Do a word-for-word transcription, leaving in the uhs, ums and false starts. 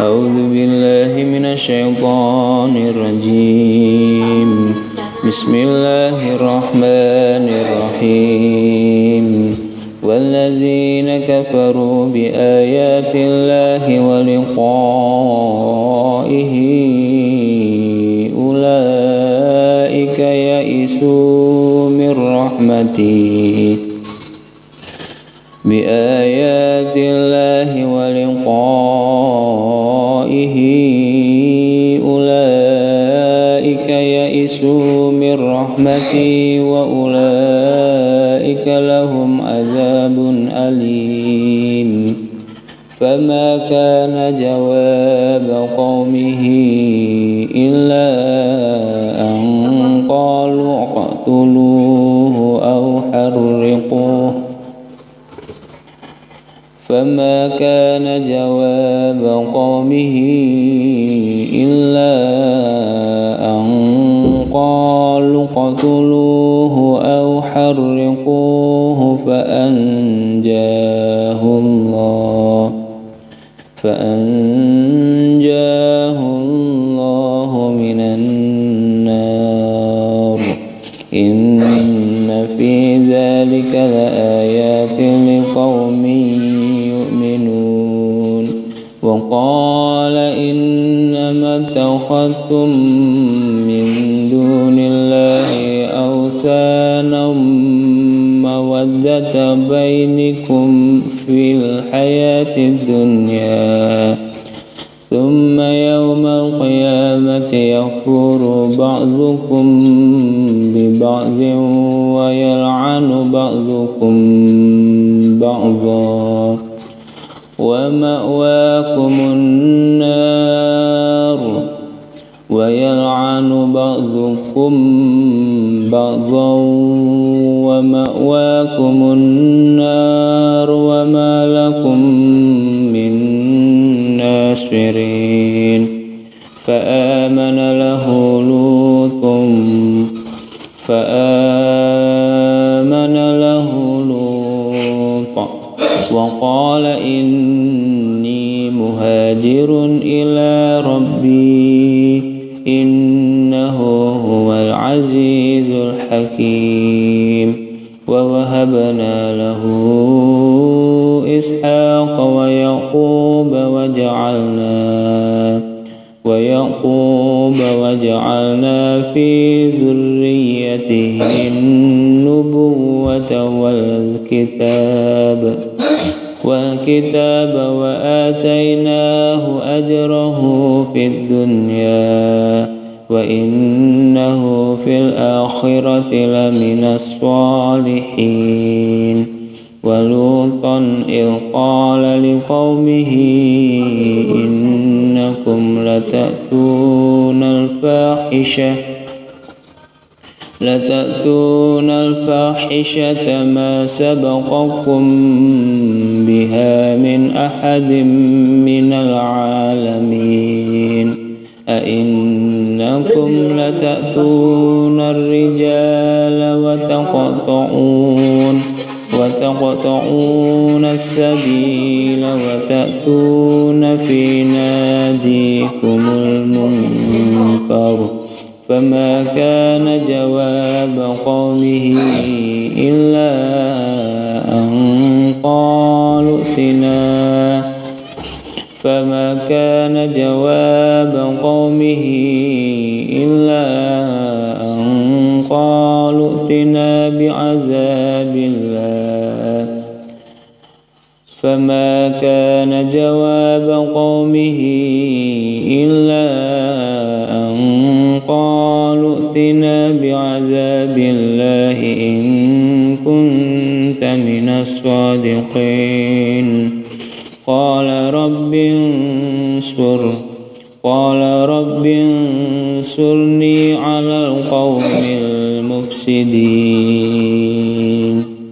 أعوذ بالله من الشيطان الرجيم. بسم الله الرحمن الرحيم. والذين كفروا بآيات الله ولقائه أولئك يئسوا من رحمتي بآيات الله ولقائه أولئك يئسوا من رحمتي وأولئك لهم عذاب أليم. فما كان جواب قومه إلا أن قالوا اقتلوه أو حرقوه فما كان جواب قومه إلا أن قالوا اقتلوه أو حرقوه فأنجاه الله فأنجاه الله من النار. إن في ذلك لآيات لقوم يؤمنون. وقال إنما اتخذتم من دون الله أوثانا مودة بينكم في الحياة الدنيا ثم يوم القيامة يكفر بعضكم ببعض ويلعن بعضكم بعضا ومأواكم النار ويلعن بعضكم بعضا ومأواكم النار وما لكم من ناصرين. فآمن له لوط فآمن له لوط وقال إني مهاجر إلى ربي إنه هو العزيز الحكيم. ووهبنا له إسحاق ويعقوب وجعلنا ويعقوب وجعلنا في ذريته النبوة والكتاب والكتاب وآتيناه أجره في الدنيا وإنه في الآخرة لمن الصالحين. ولوطا إذ قال لقومه إنكم لتأتون الفاحشة لتأتون الفاحشة ما سبقكم بها من أحد من العالمين. أئنكم لتأتون الرجال وتقطعون وتقطعون السبيل وتأتون في ناديكم المنكر. فما كان جواب قومه إلا أن قالوا ائتنا فما كان جواب قومه إلا أن قالوا ائتنا بعذاب الله فما كان جواب قومه إلا أن قالوا ائتنا بعذاب الله إن كنت من الصادقين. قال رب انصر قال رب انصرني على القوم المفسدين.